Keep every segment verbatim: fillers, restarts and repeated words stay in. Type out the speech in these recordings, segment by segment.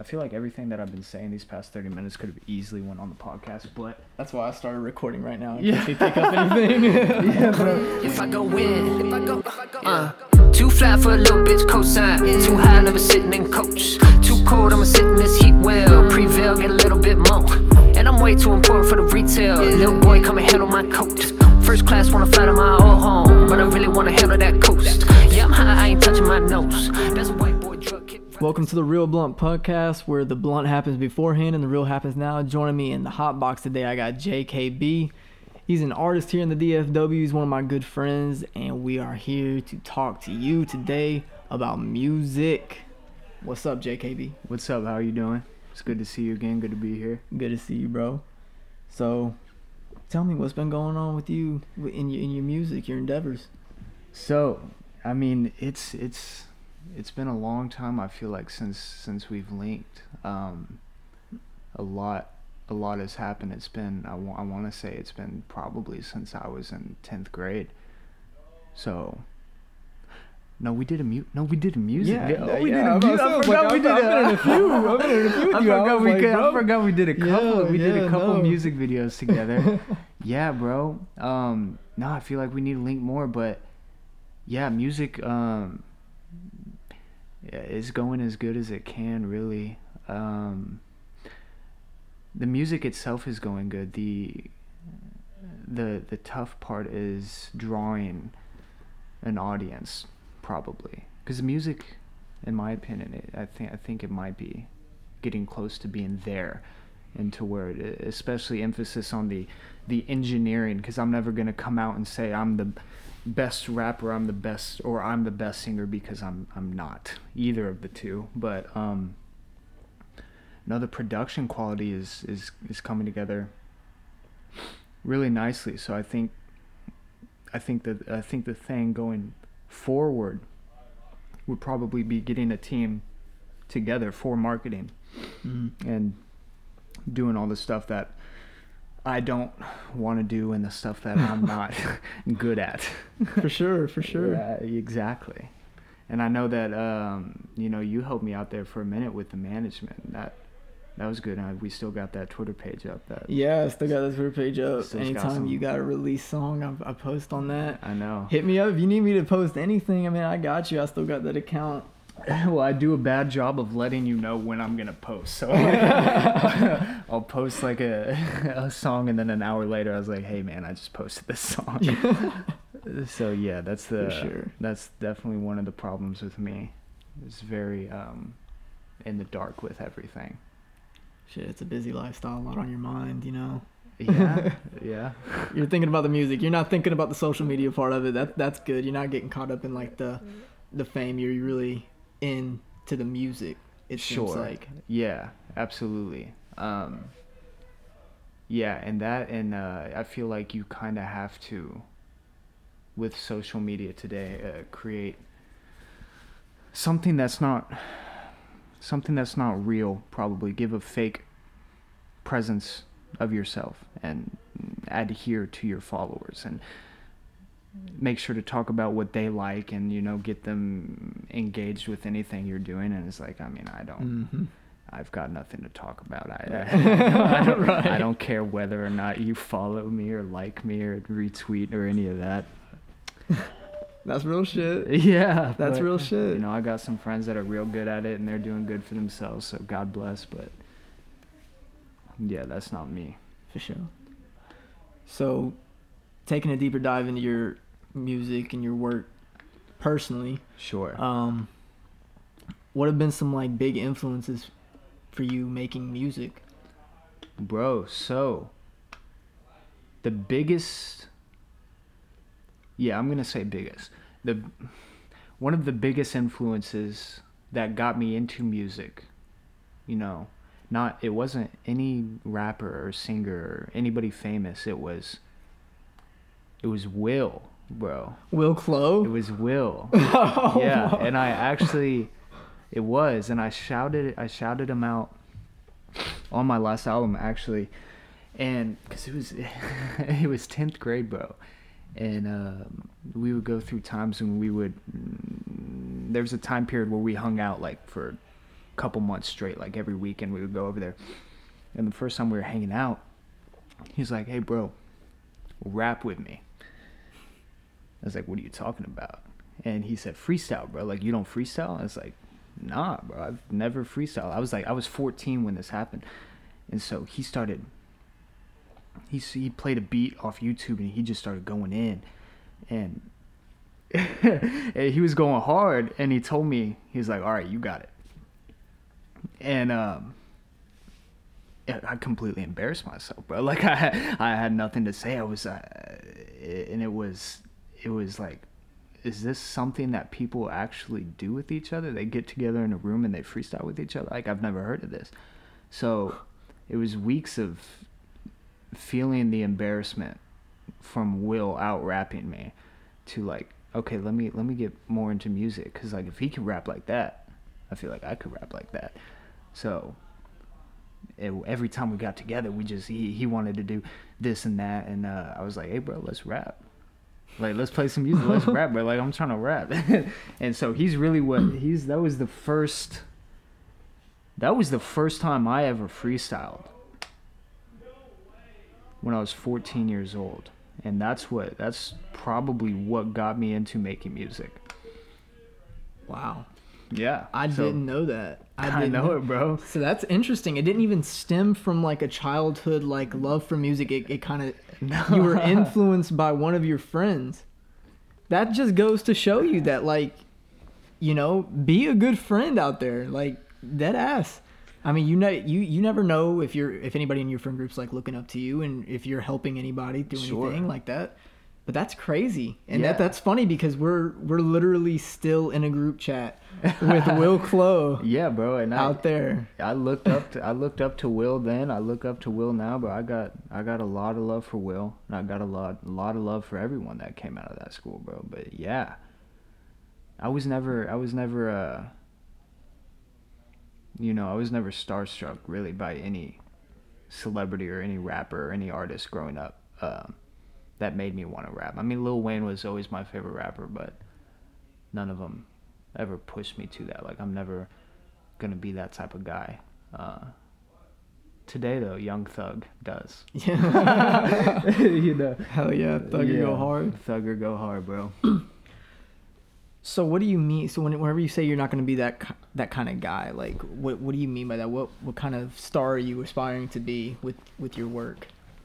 I feel like everything that I've been saying these past thirty minutes could have easily went on the podcast, but that's why I started recording right now. In yeah. case you pick up anything. Yeah, bro. If I go in, if I go, uh, too flat for a little bitch cosign. Too high, never sitting in coach. Too cold, I'ma sit in this heat well. Prevail, get a little bit more. And I'm way too important for the retail. Little boy, come and handle my coat. First class, wanna fly to my old home, but I really wanna handle that coast. Yeah, I'm high, I ain't touching my nose. That's a white boy drug kid. Welcome to the Real Blunt Podcast, where the blunt happens beforehand and the real happens now. Joining me in the hot box today, I got J K B. He's an artist here in the D F W. He's one of my good friends, and we are here to talk to you today about music. What's up, J K B? What's up? How are you doing? It's good to see you again. Good to be here. Good to see you, bro. So, tell me what's been going on with you in your in your music, your endeavors. So, I mean, it's it's it's been a long time. I feel like since since we've linked, um, a lot a lot has happened. It's been I, w- I want to say it's been probably since I was in tenth grade. So. No, we did a mute. No, we did a music. Yeah, video. yeah, Oh, we yeah, did a music. I, I forgot like, we did. I've been in a few. I've been in a few with I you. I forgot was we like, could, bro. I forgot we did a couple. Yeah, we did yeah, a couple no. music videos together. Yeah, bro. Um, no, I feel like we need to link more, but yeah, music um is going as good as it can, really. Um, the music itself is going good. The the the tough part is drawing an audience, probably. Because the music, in my opinion, it, I think I think it might be getting close to being there, and to where it is, especially emphasis on the the engineering. Because I'm never gonna come out and say I'm the best rapper, I'm the best, or I'm the best singer, because I'm I'm not either of the two. But um, no, the production quality is is is coming together really nicely. So I think I think that I think the thing going forward would probably be getting a team together for marketing, mm-hmm. and doing all the stuff that I don't want to do and the stuff that I'm not good at. For sure, for sure. Yeah, exactly. And I know that um, you know, you helped me out there for a minute with the management. That that was good. And we still got that Twitter page up. That yeah, I still got that Twitter page up. Still Anytime got some- you got a release song, I, I post on that. I know. Hit me up if you need me to post anything. I mean, I got you. I still got that account. Well, I do a bad job of letting you know when I'm gonna post. So I'll post like a a song, and then an hour later, I was like, "Hey, man, I just posted this song." So yeah, that's the For sure. that's definitely one of the problems with me. It's very um, in the dark with everything. Shit, it's a busy lifestyle, a lot on your mind, you know. Yeah, yeah. You're thinking about the music. You're not thinking about the social media part of it. That that's good. You're not getting caught up in like the the fame. You're really into the music. It Sure. seems like. Yeah, absolutely. Um, yeah, and that, and uh, I feel like you kind of have to, with social media today, uh, create something that's not something that's not real. Probably give a fake presence of yourself and adhere to your followers, and make sure to talk about what they like, and, you know, get them engaged with anything you're doing. And it's like, I mean, I don't Mm-hmm. I've got nothing to talk about. I, I, I, don't, Right. I don't care whether or not you follow me or like me or retweet or any of that. That's real shit. Yeah. That's but, real shit. You know, I got some friends that are real good at it, and they're doing good for themselves, so God bless. But yeah, that's not me. For sure. So, taking a deeper dive into your music and your work personally, Sure. um, what have been some like big influences for you making music? Bro, so the biggest, yeah, I'm gonna say biggest. The one of the biggest influences that got me into music, you know, not it wasn't any rapper or singer or anybody famous. It was it was Will, bro. Will Clow? It was Will. Oh, Yeah, and I actually, it was, and I shouted, I shouted him out on my last album, actually, and because it was, it was tenth grade, bro, and um, we would go through times when we would, there was a time period where we hung out like for couple months straight. Like every weekend we would go over there. And the first time we were hanging out, he's like, "Hey, bro, rap with me." I was like, "What are you talking about?" And he said, "Freestyle, bro. Like, you don't freestyle?" I was like, "Nah, bro. I've never freestyled." I was like, I was fourteen when this happened. And so he started, he, he played a beat off YouTube and he just started going in. And, and he was going hard. And he told me, he was like, "All right, you got it." And um, I completely embarrassed myself, bro. Like, I, I had nothing to say. I was, uh, and it was, it was like, is this something that people actually do with each other? They get together in a room and they freestyle with each other? Like, I've never heard of this. So it was weeks of feeling the embarrassment from Will out rapping me to like, okay, let me let me get more into music, because like if he can rap like that, I feel like I could rap like that. So it, every time we got together, we just he, he wanted to do this and that, and uh, I was like, "Hey, bro, let's rap. Like, let's play some music. Let's rap, bro. Like, I'm trying to rap." And so he's really what he's. That was the first. That was the first time I ever freestyled. When I was fourteen years old, and that's what. That's probably what got me into making music. Wow. Yeah. I so, didn't know that. I, I didn't know it, bro. So that's interesting. It didn't even stem from like a childhood like love for music. It, it kind of No. You were influenced by one of your friends. That just goes to show you that, like, you know, be a good friend out there, like dead ass. I mean, you know, you you never know if you're if anybody in your friend group's like looking up to you and if you're helping anybody through Sure. anything like that. But that's crazy, and Yeah. that that's funny because we're we're literally still in a group chat with Will Clow. Yeah, bro. And out I, there. I looked up to I looked up to Will then. I look up to Will now, but I got I got a lot of love for Will, and I got a lot a lot of love for everyone that came out of that school, bro. But yeah, I was never I was never uh you know I was never starstruck really by any celebrity or any rapper or any artist growing up. Um, that made me want to rap. I mean, Lil Wayne was always my favorite rapper, but none of them ever pushed me to that. Like, I'm never gonna be that type of guy. Uh, today, though, Young Thug does. Yeah. You know. Hell yeah, Thugger Yeah, go hard. Thugger go hard, bro. So what do you mean? So when, whenever you say you're not going to be that ki- that kind of guy, like what what do you mean by that? What what kind of star are you aspiring to be with, with your work?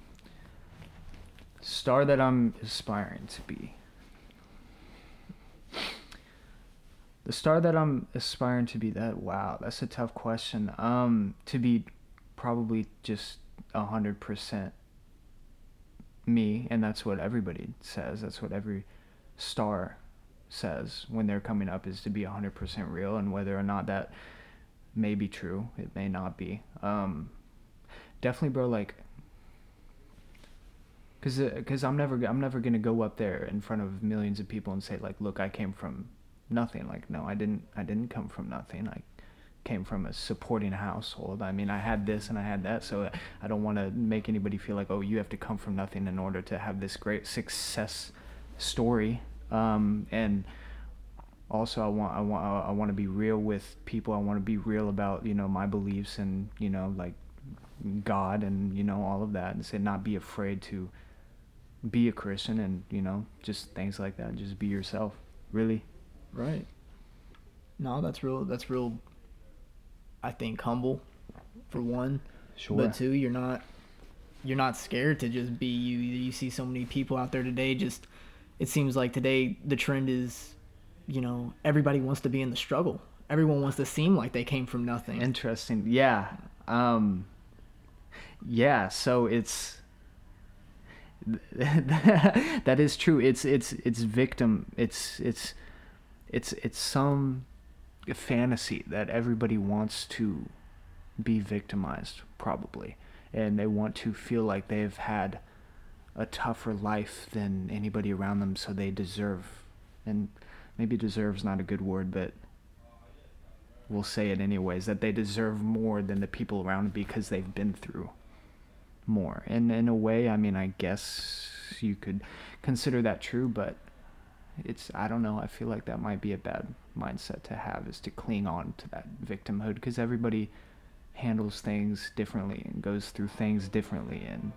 Star that I'm aspiring to be. The star that I'm aspiring to be, that wow, that's a tough question. Um, to be probably just a hundred percent me, and that's what everybody says. That's what every star says when they're coming up, is to be a hundred percent real. And whether or not that may be true, it may not be. Um, definitely, bro. Like, cause, uh, cause I'm never, I'm never gonna go up there in front of millions of people and say like, look, I came from nothing. Like, no, I didn't I didn't come from nothing. I came from a supporting household. I mean, I had this and I had that, so I don't want to make anybody feel like, oh, you have to come from nothing in order to have this great success story. Um and also I want I want I want to be real with people. I want to be real about, you know, my beliefs and, you know, like God and, you know, all of that, and say not be afraid to be a Christian, and, you know, just things like that. Just be yourself, really. Right. No, that's real. That's real. I think humble, for one. Sure. But two, you're not. You're not scared to just be you. You see so many people out there today. Just, it seems like today the trend is, you know, everybody wants to be in the struggle. Everyone wants to seem like they came from nothing. Interesting. Yeah. Um. Yeah. So it's. That is true. It's it's it's victim. It's it's. It's it's some fantasy that everybody wants to be victimized, probably, and they want to feel like they've had a tougher life than anybody around them, so they deserve, and maybe deserve's not a good word, but we'll say it anyways, that they deserve more than the people around them because they've been through more. And in a way, I mean, I guess you could consider that true, but it's, I don't know, I feel like that might be a bad mindset to have, is to cling on to that victimhood, because everybody handles things differently and goes through things differently, and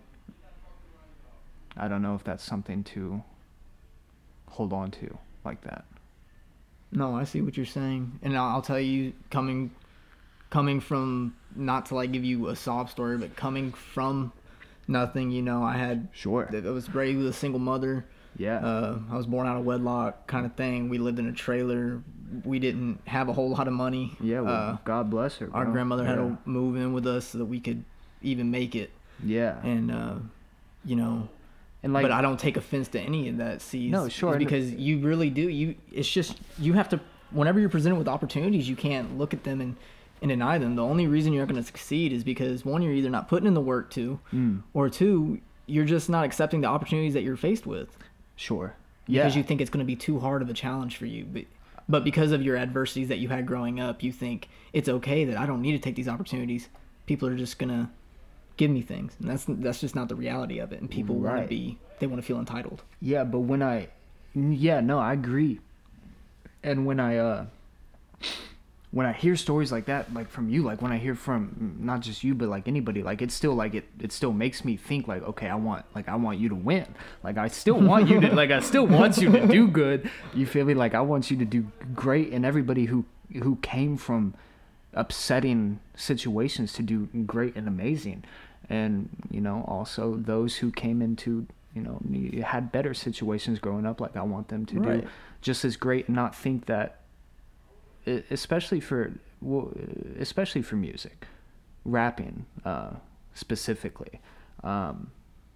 I don't know if that's something to hold on to like that. No, I see what you're saying, and I'll, I'll tell you, coming coming from, not to like give you a sob story, but coming from nothing, you know, I had Sure. I was raised with a single mother. Yeah. Uh, I was born out of wedlock, kind of thing. We lived in a trailer. We didn't have a whole lot of money. Yeah, well, uh, God bless her, bro. Our grandmother had Yeah. to move in with us so that we could even make it. Yeah. And uh, you know, And like, but I don't take offense to any of that. See, No, sure, and- because you really do. You, it's just you have to. Whenever you're presented with opportunities, you can't look at them and, and deny them. The only reason you're not going to succeed is because, one, you're either not putting in the work to, Mm. or two, you're just not accepting the opportunities that you're faced with. Sure. Yeah. Because you think it's going to be too hard of a challenge for you. But but because of your adversities that you had growing up, you think it's okay that I don't need to take these opportunities. People are just going to give me things. And that's that's just not the reality of it. And people want Right. to be, they want to feel entitled. Yeah, but when I, yeah, no, I agree. And when I, uh, when I hear stories like that, like from you, like when I hear from not just you, but like anybody, like it's still like it, it still makes me think like, okay, I want, like I want you to win. Like I still want you to, like I still want you to do good. You feel me? Like I want you to do great, and everybody who who came from upsetting situations to do great and amazing. And you know, also those who came into, you know, had better situations growing up, like I want them to Right. do just as great, and not think that, especially for well, especially for music, rapping uh, specifically, um,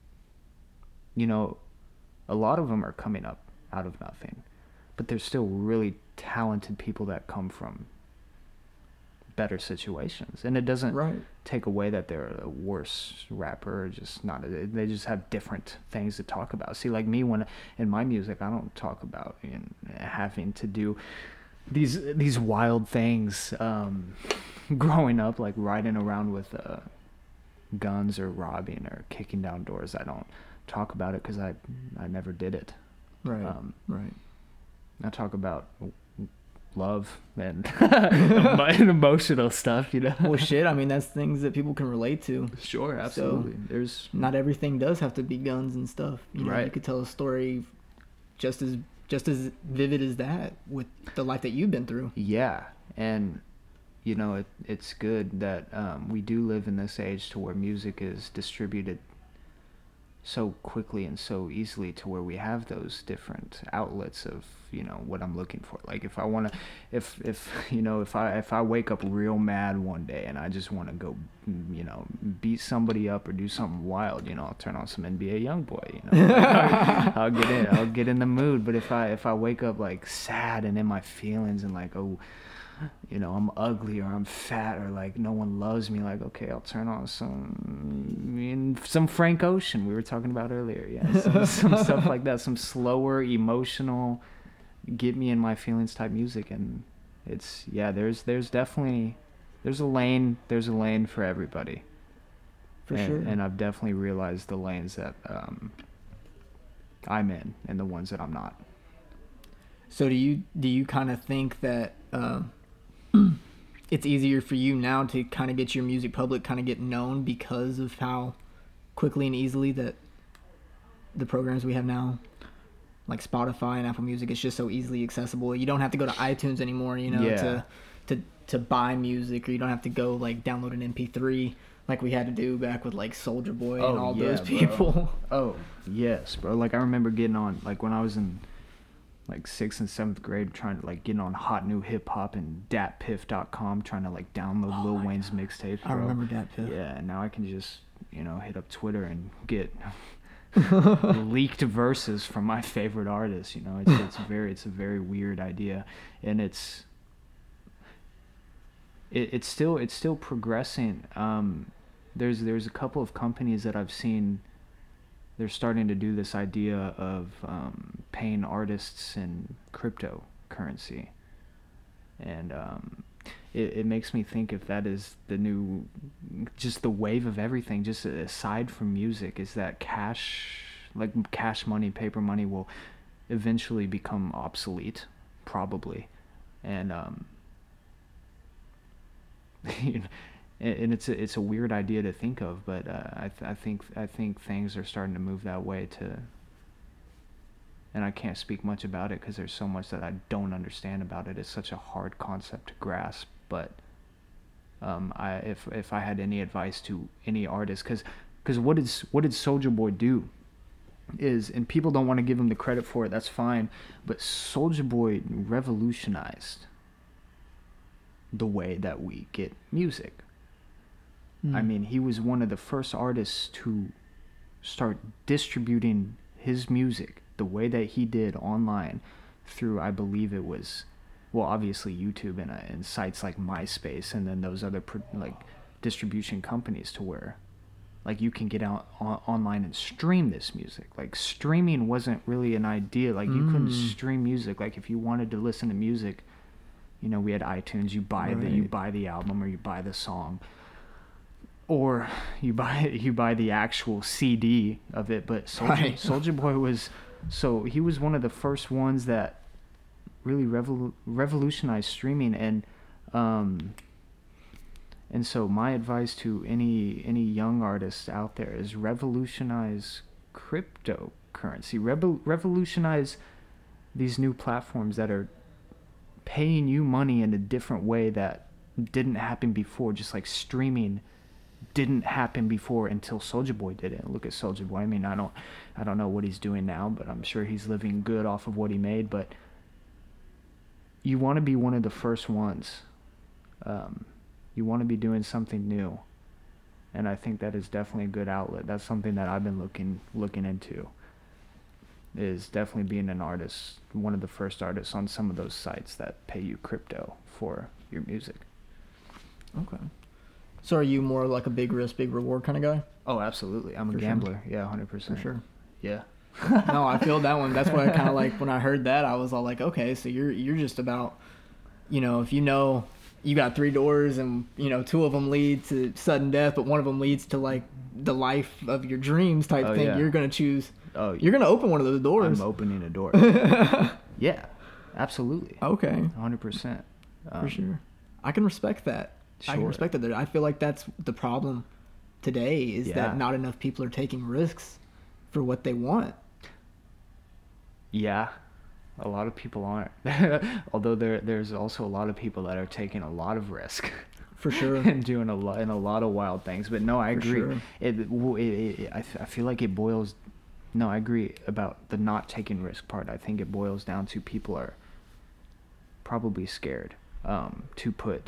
you know, a lot of them are coming up out of nothing, but there's still really talented people that come from better situations, and it doesn't Right. take away that they're a worse rapper, or just not. They just have different things to talk about. See, like me, when in my music, I don't talk about, you know, having to do these these wild things um, growing up, like riding around with uh, guns or robbing or kicking down doors. I don't talk about it because I I never did it. Right. Um, right. I talk about love and, and emotional stuff, you know. Well, shit. I mean, that's things that people can relate to. Sure, absolutely. There's Not everything does have to be guns and stuff. You know, Right. you could tell a story just as just as vivid as that with the life that you've been through. yeah, and you know, it it's good that um, we do live in this age to where music is distributed so quickly and so easily, to where we have those different outlets of, you know, what I'm looking for. Like if I want to, if if you know, if I if I wake up real mad one day and I just want to go, you know, beat somebody up or do something wild, you know, I'll turn on some N B A Youngboy, you know. I'll get in, I'll get in the mood. But if I if I wake up like sad and in my feelings and like, oh, you know, I'm ugly or I'm fat or like no one loves me, like, okay, I'll turn on some some Frank Ocean we were talking about earlier. Yeah, some, some stuff like that, some slower, emotional, get me in my feelings type music. And it's, yeah, there's there's definitely there's a lane there's a lane for everybody. For and, sure. And I've definitely realized the lanes that um, I'm in and the ones that I'm not. So do you do you kind of think that um, it's easier for you now to kind of get your music public, kind of get known because of how quickly and easily that the programs we have now, like Spotify and Apple Music, it's just so easily accessible. You don't have to go to iTunes anymore, you know, Yeah. to to to buy music, or you don't have to go like download an M P three like we had to do back with like Soulja Boy and Oh, all yeah, those bro. people. Oh, yes, bro. Like I remember getting on, like when I was in like sixth and seventh grade, trying to like getting on Hot New Hip Hop and dat piff dot com, trying to like download Oh Lil my Wayne's mixtapes. I remember that too. Yeah, and now I can just, you know, hit up Twitter and get leaked verses from my favorite artists. You know, it's it's very it's a very weird idea, and it's it, it's still it's still progressing. Um, there's there's a couple of companies that I've seen. They're starting to do this idea of um, paying artists in cryptocurrency, and um, it, it makes me think if that is the new, just the wave of everything, just aside from music, is that cash, like cash money, paper money will eventually become obsolete, probably, and um, and it's a, it's a weird idea to think of, but uh, I th- I think I think things are starting to move that way to. And I can't speak much about it because there's so much that I don't understand about it. It's such a hard concept to grasp. But um, I if if I had any advice to any artist, because because what did what did Soulja Boy do? Is, and people don't want to give him the credit for it. That's fine, but Soulja Boy revolutionized the way that we get music. Mm. I mean, he was one of the first artists to start distributing his music the way that he did online through, I believe it was, well, obviously YouTube and, uh, and sites like MySpace, and then those other pro- like distribution companies, to where like you can get out on, online and stream this music. Like streaming wasn't really an idea. Like you mm. couldn't stream music. Like if you wanted to listen to music, you know, we had iTunes. You buy right. the you buy the album or you buy the song, or you buy you buy the actual C D of it. But Soulja, right. Soulja Boy was. So he was one of the first ones that really revol- revolutionized streaming, and um, and so my advice to any any young artists out there is revolutionize cryptocurrency, Revo- revolutionize these new platforms that are paying you money in a different way that didn't happen before, just like streaming didn't happen before until Soulja Boy did it. Look at Soulja Boy. I mean, I don't, I don't know what he's doing now, but I'm sure he's living good off of what he made. But you want to be one of the first ones. Um, you want to be doing something new, and I think that is definitely a good outlet. That's something that I've been looking looking into. Is definitely being an artist, one of the first artists on some of those sites that pay you crypto for your music. Okay. So are you more like a big risk, big reward kind of guy? Oh, absolutely. I'm a For gambler. Sure. Yeah, one hundred percent. For sure. Yeah. No, I feel that one. That's why I kind of like, when I heard that, I was all like, okay, so you're you're just about, you know, if you know you got three doors and, you know, two of them lead to sudden death, but one of them leads to like the life of your dreams type oh, thing, yeah. you're going to choose, oh, you're going to open one of those doors. I'm opening a door. Yeah, absolutely. Okay. one hundred percent. Um, For sure. I can respect that. Sure. I can respect that. I feel like that's the problem today is Yeah. that not enough people are taking risks for what they want. Yeah, a lot of people aren't. Although there, there's also a lot of people that are taking a lot of risk. For sure. And doing a lot and a lot of wild things. But no, I For agree. Sure. It, it, it, it, I, f- I feel like it boils. No, I agree about the not taking risk part. I think it boils down to people are probably scared um, to put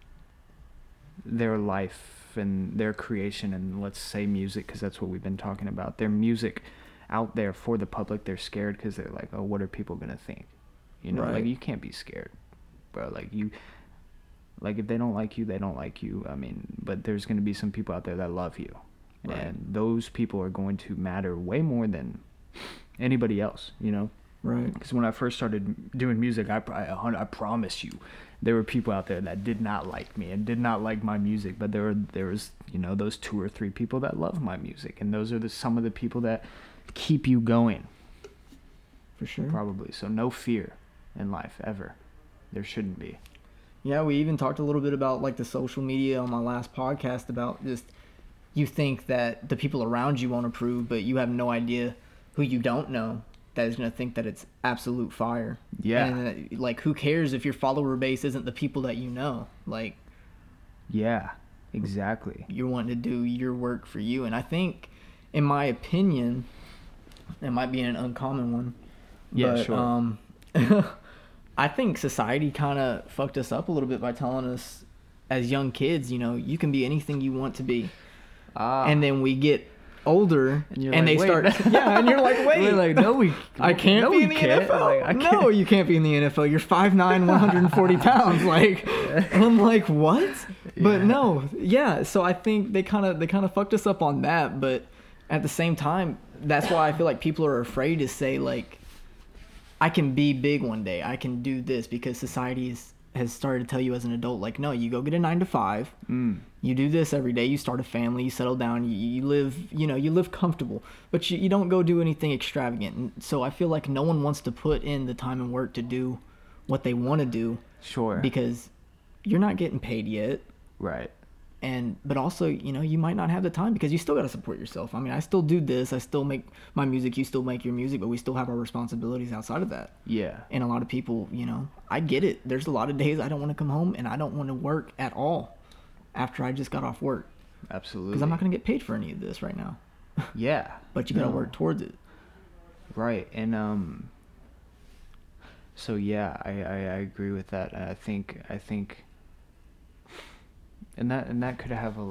their life and their creation, and let's say music, because that's what we've been talking about, their music out there for the public. They're scared because they're like, oh, what are people gonna think? You know, Right. like you can't be scared, bro. Like you, like if they don't like you, they don't like you. I mean, but there's gonna be some people out there that love you, Right. and those people are going to matter way more than anybody else. You know. Right. Because when I first started doing music, I, I, I promise you, there were people out there that did not like me and did not like my music. But there were there was you know those two or three people that love my music, and those are the some of the people that keep you going. For sure. Probably. So no fear in life ever. There shouldn't be. Yeah, we even talked a little bit about like the social media on my last podcast about just you think that the people around you won't approve, but you have no idea who you don't know that is going to think that it's absolute fire. Yeah. And, uh, like, who cares if your follower base isn't the people that you know? Like, yeah, exactly. You're wanting to do your work for you. And I think, in my opinion, it might be an uncommon one. Yeah, but, sure. Um, I think society kind of fucked us up a little bit by telling us, as young kids, you know, you can be anything you want to be. Ah. And then we get older and, you're and like, they wait. start yeah and you're like wait we're like no we I can't no, be in the can't. N F L Like, I no can't. you can't be in the N F L, you're five nine, one hundred forty pounds, like, and I'm like, what? But Yeah. no, yeah, so I think they kind of they kind of fucked us up on that. But at the same time, that's why I feel like people are afraid to say, like, I can be big one day, I can do this, because society is has started to tell you as an adult, like, no, you go get a nine to five. Mm. You do this every day. You start a family. You settle down. You, you live, you know, you live comfortable. But you, you don't go do anything extravagant. And so I feel like no one wants to put in the time and work to do what they want to do. Sure. Because you're not getting paid yet. Right. And but also, you know, you might not have the time because you still got to support yourself. I mean, I still do this. I still make my music. You still make your music. But we still have our responsibilities outside of that. Yeah. And a lot of people, you know, I get it. There's a lot of days I don't want to come home and I don't want to work at all after I just got off work. Absolutely. Because I'm not going to get paid for any of this right now. Yeah. But you got to No. work towards it. Right. And um so yeah, I, I, I agree with that. I think I think and that and that could have a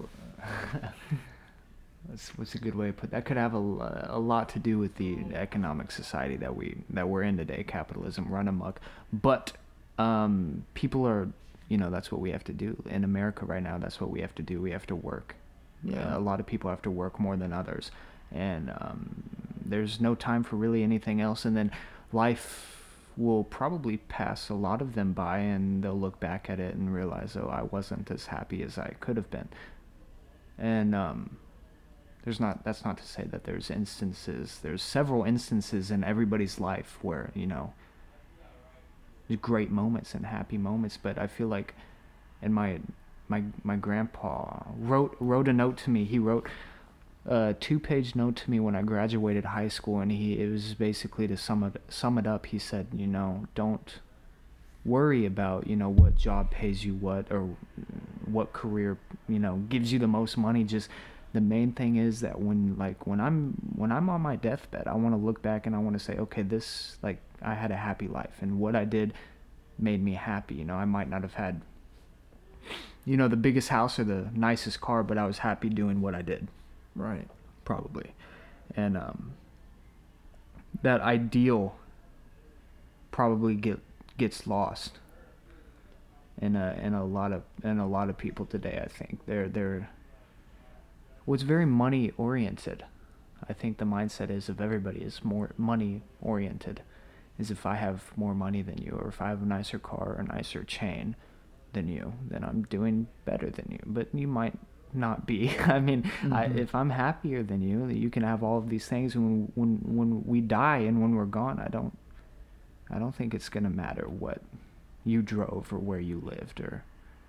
what's what's a good way to put that could have a, a lot to do with the economic society that we that we're in today, capitalism run amok. But um people are, you know, that's what we have to do in America right now. That's what we have to do. We have to work. Yeah. Uh, a lot of people have to work more than others, and um there's no time for really anything else. And then life will probably pass a lot of them by, and they'll look back at it and realize, oh, I wasn't as happy as I could have been. And um there's not that's not to say that there's instances there's several instances in everybody's life where, you know, there's great moments and happy moments, but I feel like and my my my grandpa wrote wrote a note to me. He wrote a two-page note to me when I graduated high school, and he it was basically to sum it sum it up. He said, you know, don't worry about, you know, what job pays you what or what career, you know, gives you the most money. Just the main thing is that when like when I'm when I'm on my deathbed, I want to look back and I want to say, okay, this, like, I had a happy life and what I did made me happy. You know, I might not have had, you know, the biggest house or the nicest car, but I was happy doing what I did. Right. Probably. And um that ideal probably get gets lost in a in a lot of in a lot of people today. I think they're they're well, it's very money oriented. I think the mindset is of everybody is more money oriented. Is if I have more money than you, or if I have a nicer car or a nicer chain than you, then I'm doing better than you. But you might not be. I mean, mm-hmm. I, if I'm happier than you, you can have all of these things. When when when we die and when we're gone, I don't I don't think it's gonna matter what you drove or where you lived, or,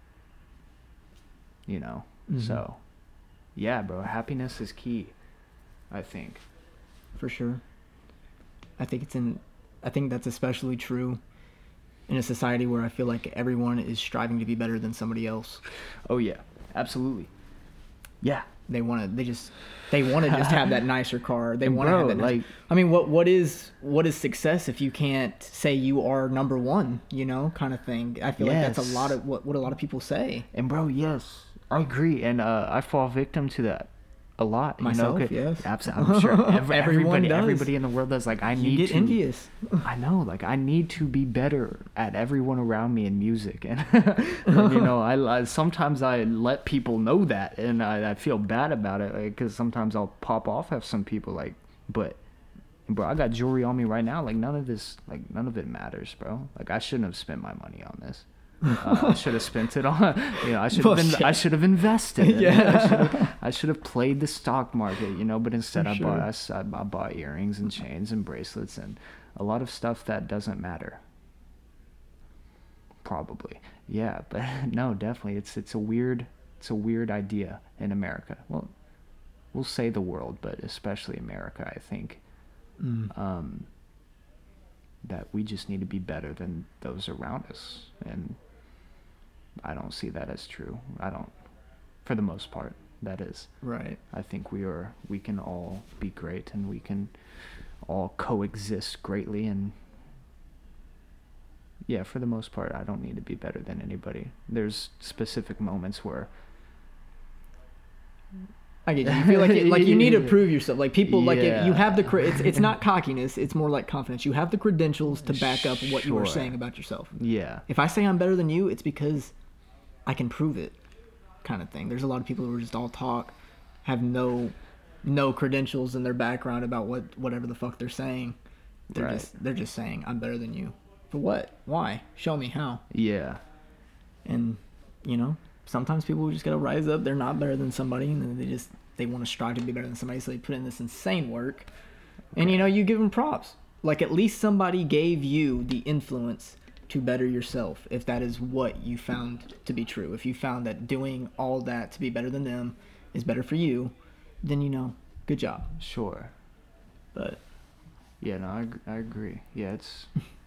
you know. Mm-hmm. So yeah, bro, happiness is key, I think. For sure. I think it's in I think that's especially true in a society where I feel like everyone is striving to be better than somebody else. Oh yeah, absolutely. Yeah, they want to. They just. They want to just have that nicer car. They want to have that. Nicer, like, I mean, what what is what is success if you can't say you are number one? You know, kind of thing. I feel yes. like that's a lot of what what a lot of people say. And bro, yes, I agree, and uh, I fall victim to that a lot. Myself, you know? yes. Absolutely, I'm sure every, everybody, does. everybody in the world does. Like, I you need get to. envious. I know, like, I need to be better at everyone around me in music, and, and you know, I, I sometimes I let people know that, and I, I feel bad about it, because like, sometimes I'll pop off at some people, like, but, bro, I got jewelry on me right now. Like, none of this, like, none of it matters, bro. Like, I shouldn't have spent my money on this. Uh, I should have spent it on, you know, I should have been, I should have invested. Yeah. I should have played the stock market, you know, but instead I sure. bought, I, I bought earrings and chains and bracelets and a lot of stuff that doesn't matter. Probably. Yeah, but no, definitely. It's, it's a weird, it's a weird idea in America. Well, we'll say the world, but especially America, I think, mm. um, that we just need to be better than those around us. And I don't see that as true. I don't, for the most part, that is. Right. I think we are, we can all be great and we can all coexist greatly. And yeah, for the most part, I don't need to be better than anybody. There's specific moments where I get you. You feel like it, like you need to prove yourself. Like people, like yeah. if you have the cre- it's it's not cockiness. It's more like confidence. You have the credentials to back up what you are Sure. saying about yourself. Yeah. If I say I'm better than you, it's because I can prove it, kind of thing. There's a lot of people who are just all talk, have no no credentials in their background about what whatever the fuck they're saying. They're Right. just they're just saying I'm better than you. For what? Why? Show me how. Yeah. And, you know, sometimes people just gotta rise up. They're not better than somebody, and then they just they want to strive to be better than somebody, so they put in this insane work. And, you know, you give them props. Like, at least somebody gave you the influence to better yourself, if that is what you found to be true. If you found that doing all that to be better than them is better for you, then, you know, good job. Sure. But yeah, no, I, I agree. Yeah, it's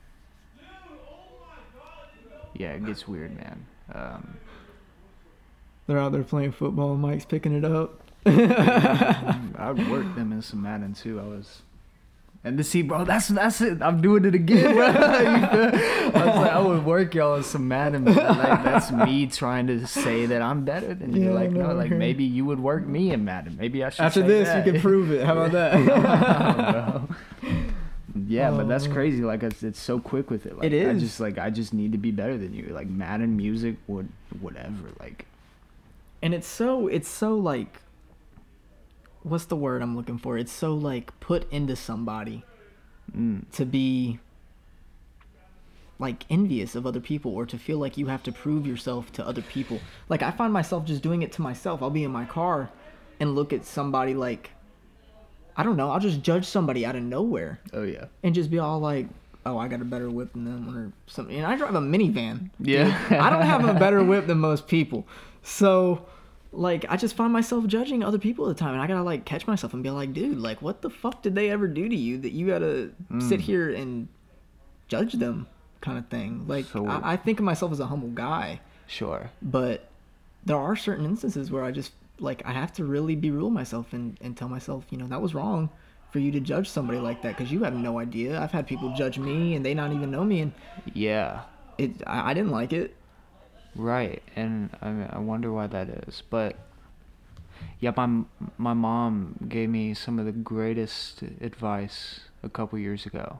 yeah, it gets weird, man. Um, they're out there playing football. Mike's picking it up. I would work them in some Madden too. I was, and to see, bro, that's that's it. I'm doing it again, bro. I was like, I would work y'all in some Madden. But like, that's me trying to say that I'm better than you. Yeah, like, no, no, like maybe you would work me in Madden. Maybe I should. After say this, that. you can prove it. How about that? Yeah, Oh, but that's man. crazy. Like, it's, it's so quick with it. Like, It I is. just like I just need to be better than you. Like Madden, music, would whatever. Like, And it's so it's so like, what's the word I'm looking for? It's so like put into somebody mm, to be like envious of other people, or to feel like you have to prove yourself to other people. Like, I find myself just doing it to myself. I'll be in my car and look at somebody like, I don't know, I'll just judge somebody out of nowhere oh yeah, and just be all like, oh, I got a better whip than them or something. And I drive a minivan. yeah. I don't have a better whip than most people. So, like, I just find myself judging other people at the time. And I gotta, like, catch myself and be like, dude, like, what the fuck did they ever do to you that you gotta sit here and judge them, kind of thing? Like, So- I, I think of myself as a humble guy. Sure. But there are certain instances where I just, like, I have to really be real with myself and, and tell myself, you know, that was wrong for you to judge somebody like that, because you have no idea. I've had people judge me and they not even know me, and Yeah. it I, I didn't like it. Right, and I I wonder why that is. But yeah, my my mom gave me some of the greatest advice a couple years ago,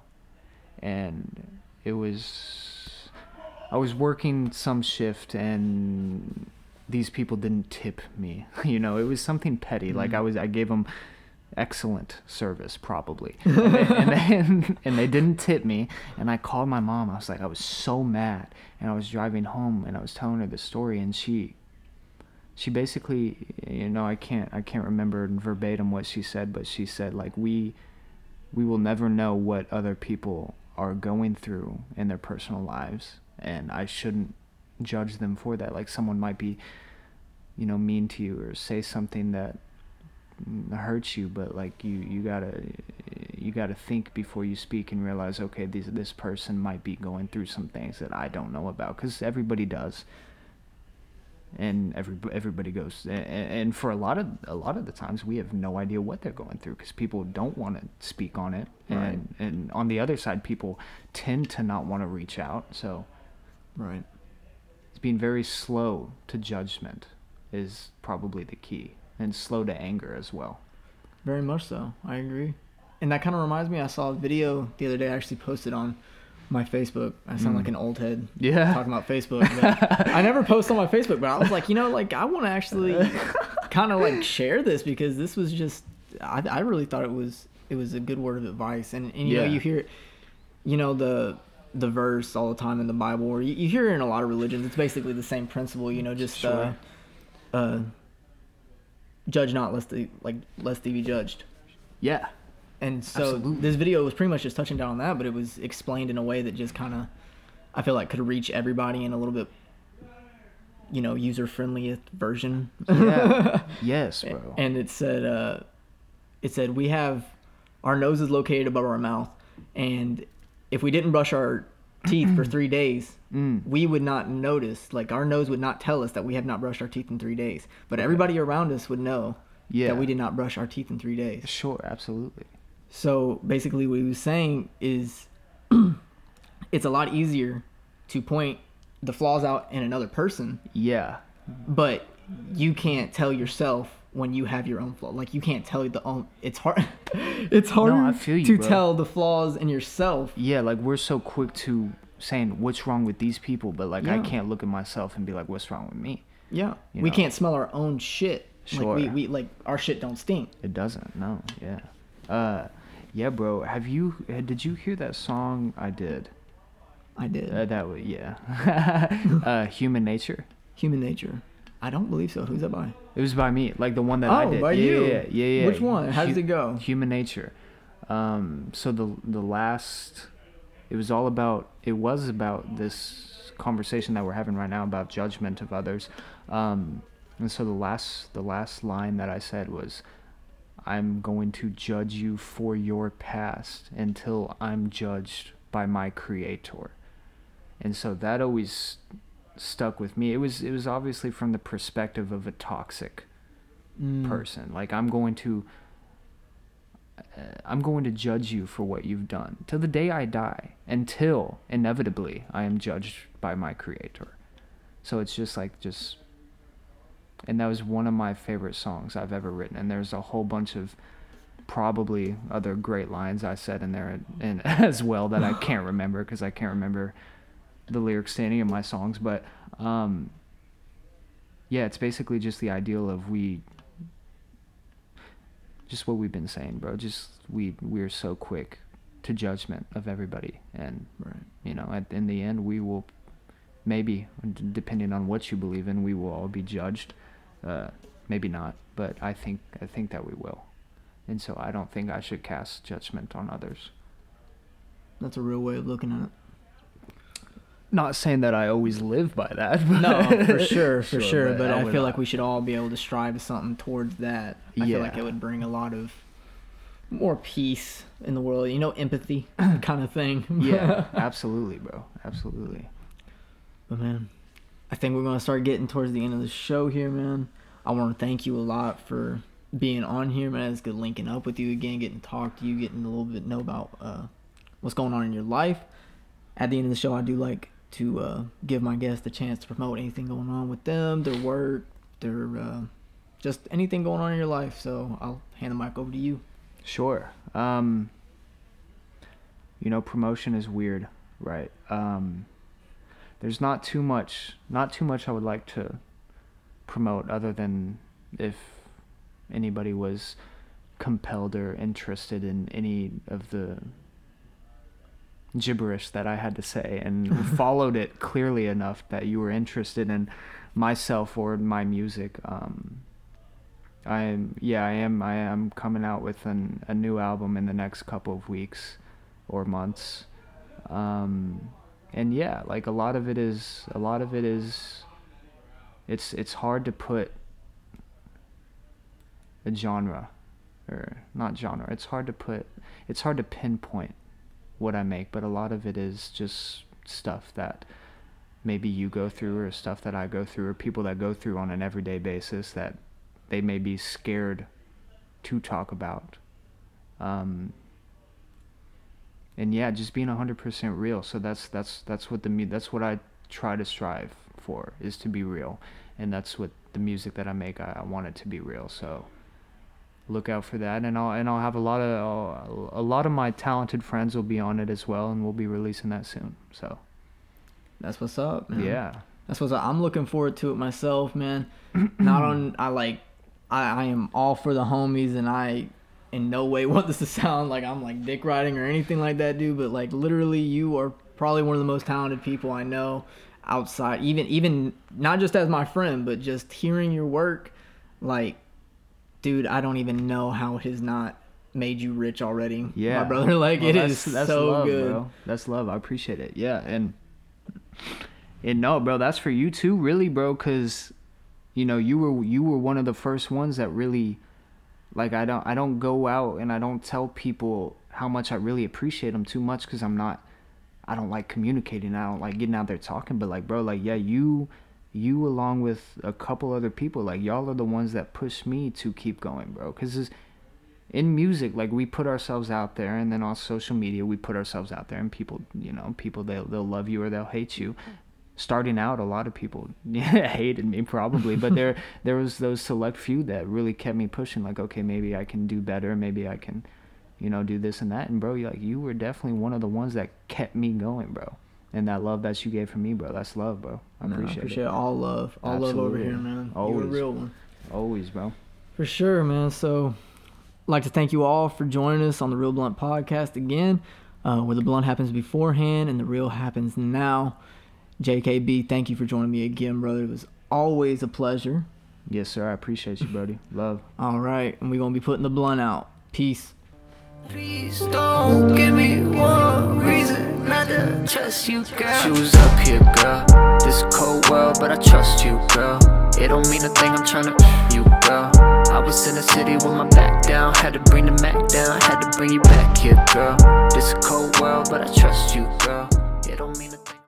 and it was I was working some shift and these people didn't tip me. You know, it was something petty. Like I was I gave them excellent service probably, and they, and, they, and they didn't tip me, and I called my mom. I was like, I was so mad, and I was driving home and I was telling her the story, and she she basically, you know, I can't I can't remember verbatim what she said, but she said, like, we we will never know what other people are going through in their personal lives, and I shouldn't judge them for that. Like, someone might be, you know, mean to you or say something that hurts you, but like you you gotta you gotta think before you speak and realize, okay, this this person might be going through some things that I don't know about, because everybody does, and every everybody goes, and, and for a lot of a lot of the times we have no idea what they're going through, because people don't want to speak on it, and Right. and on the other side, people tend to not want to reach out. So Right. it's being very slow to judgment is probably the key. And slow to anger as well. Very much so. I agree. And that kind of reminds me, I saw a video the other day I actually posted on my Facebook. I sound Mm. like an old head Yeah. talking about Facebook. But I never post on my Facebook, but I was like, you know, like, I want to actually kind of like share this, because this was just, I, I really thought it was, it was a good word of advice. And, and you Yeah. know, you hear it, you know, the, the verse all the time in the Bible, or you, you hear it in a lot of religions. It's basically the same principle, you know, just, Sure. uh, uh, judge not lest they like lest they be judged. Yeah. And so Absolutely. this video was pretty much just touching down on that, but it was explained in a way that just kind of, I feel like, could reach everybody in a little bit, you know, user friendliest version. Yeah. Yes, bro. And it said, uh, it said we have our nose is located above our mouth, and if we didn't brush our teeth for three days, Mm. we would not notice. Like, our nose would not tell us that we have not brushed our teeth in three days. But everybody around us would know Yeah. that we did not brush our teeth in three days. Sure, absolutely. So basically what he was saying is it's a lot easier to point the flaws out in another person, Yeah. but you can't tell yourself when you have your own flaw. Like, you can't tell the own, it's hard it's hard I feel you, to bro. tell the flaws in yourself. Yeah, like, we're so quick to saying what's wrong with these people, but like I Yeah. can't look at myself and be like, what's wrong with me? Yeah. You We know. can't smell our own shit. Sure. Like, we, we like our shit don't stink. It doesn't. No. Yeah. Uh yeah, bro. Have you uh, did you hear that song I did? I did. Uh, that was yeah. uh, Human Nature. Human Nature. I don't believe so. Who's that by? It was by me, like the one that oh, I did. by yeah, you. Yeah, yeah, yeah. Which one? How Hu- does it go? Human Nature. Um, so the the last, it was all about. It was about this conversation that we're having right now about judgment of others. Um, and so the last the last line that I said was, "I'm going to judge you for your past until I'm judged by my Creator." And so that always stuck with me. It was it was obviously from the perspective of a toxic Mm. person. Like I'm going to uh, I'm going to judge you for what you've done till the day I die, until inevitably I am judged by my Creator. So it's just like just and that was one of my favorite songs I've ever written, and there's a whole bunch of probably other great lines I said in there and as well that I can't remember because I can't remember the lyrics to any of my songs, but um yeah, it's basically just the ideal of we just what we've been saying, bro. Just we we're so quick to judgment of everybody, and Right. you know, at in the end we will maybe, d- depending on what you believe in, we will all be judged. Uh maybe not, but I think I think that we will. And so I don't think I should cast judgment on others. That's a real way of looking at it. Not saying that I always live by that. But No, for sure, for Sure, sure. but But I I would feel not. like we should all be able to strive to something towards that. I feel like Yeah. it would bring a lot of more peace in the world. You know, empathy kind of thing. Yeah, absolutely, bro. Absolutely. But man, I think we're gonna start getting towards the end of the show here, man. I want to thank you a lot for being on here, man. It's good linking up with you again, getting to talk to you, getting a little bit know about uh, what's going on in your life. At the end of the show, I do like to uh, give my guests the chance to promote anything going on with them, their work, their uh, just anything going on in your life. So I'll hand the mic over to you. Sure. Um, you know, promotion is weird, right? Um, there's not too much, not too much I would like to promote other than if anybody was compelled or interested in any of the gibberish that I had to say and followed it clearly enough that you were interested in myself or my music. Um, I'm yeah I am I am coming out with an, a new album in the next couple of weeks or months, um, and yeah, like a lot of it is a lot of it is it's it's hard to put a genre or not genre. It's hard to put it's hard to pinpoint what I make, but a lot of it is just stuff that maybe you go through or stuff that I go through or people that go through on an everyday basis that they may be scared to talk about. Um, and yeah, just being one hundred percent real. So that's that's that's what the mu- that's what I try to strive for, is to be real. And that's what the music that I make, I, I want it to be real. So look out for that, and I'll and I'll have a lot of I'll, a lot of my talented friends will be on it as well, and we'll be releasing that soon. So That's what's up, man. yeah, That's what's up. I'm looking forward to it myself, man. Not on. I like. I, I am all for the homies, and I in no way want this to sound like I'm like dick riding or anything like that, dude. But like literally, you are probably one of the most talented people I know outside. Even even not just as my friend, but just hearing your work, like. Dude, I don't even know how it has not made you rich already. yeah, My brother, like Well, it that's, is that's so love, good. bro. That's love. I appreciate it. Yeah, and and no, bro, that's for you too, really, bro, because you know you were you were one of the first ones that really, like, I don't I don't go out and I don't tell people how much I really appreciate them too much, because I'm not I don't like communicating. I don't like getting out there talking, but like, bro, like, yeah, you. You along with a couple other people, like, y'all are the ones that push me to keep going, bro. Because in music, like, we put ourselves out there, and then on social media we put ourselves out there, and people, you know, people, they'll, they'll love you or they'll hate you. Starting out, a lot of people hated me probably, but there there was those select few that really kept me pushing, like, okay, maybe I can do better, maybe I can, you know, do this and that. And bro, you like you were definitely one of the ones that kept me going, bro. And that love that you gave from me, bro, that's love, bro. I No, appreciate, I appreciate it. all love. All love over Absolutely. here, man. Always. You're a real one. Always, bro. For sure, man. So, I'd like to thank you all for joining us on the Real Blunt Podcast again. uh, where the blunt happens beforehand and the real happens now. J K B, thank you for joining me again, brother. It was always a pleasure. Yes, sir. I appreciate you, buddy. Love. All right, and we're going to be putting the blunt out. Peace. Please don't give me one reason not to trust you, girl. Shoes up here, girl. This cold world, but I trust you, girl. It don't mean a thing, I'm tryna you, girl. I was in the city with my back down, had to bring the Mac down, had to bring you back here, girl. This cold world, but I trust you, girl. It don't mean a thing.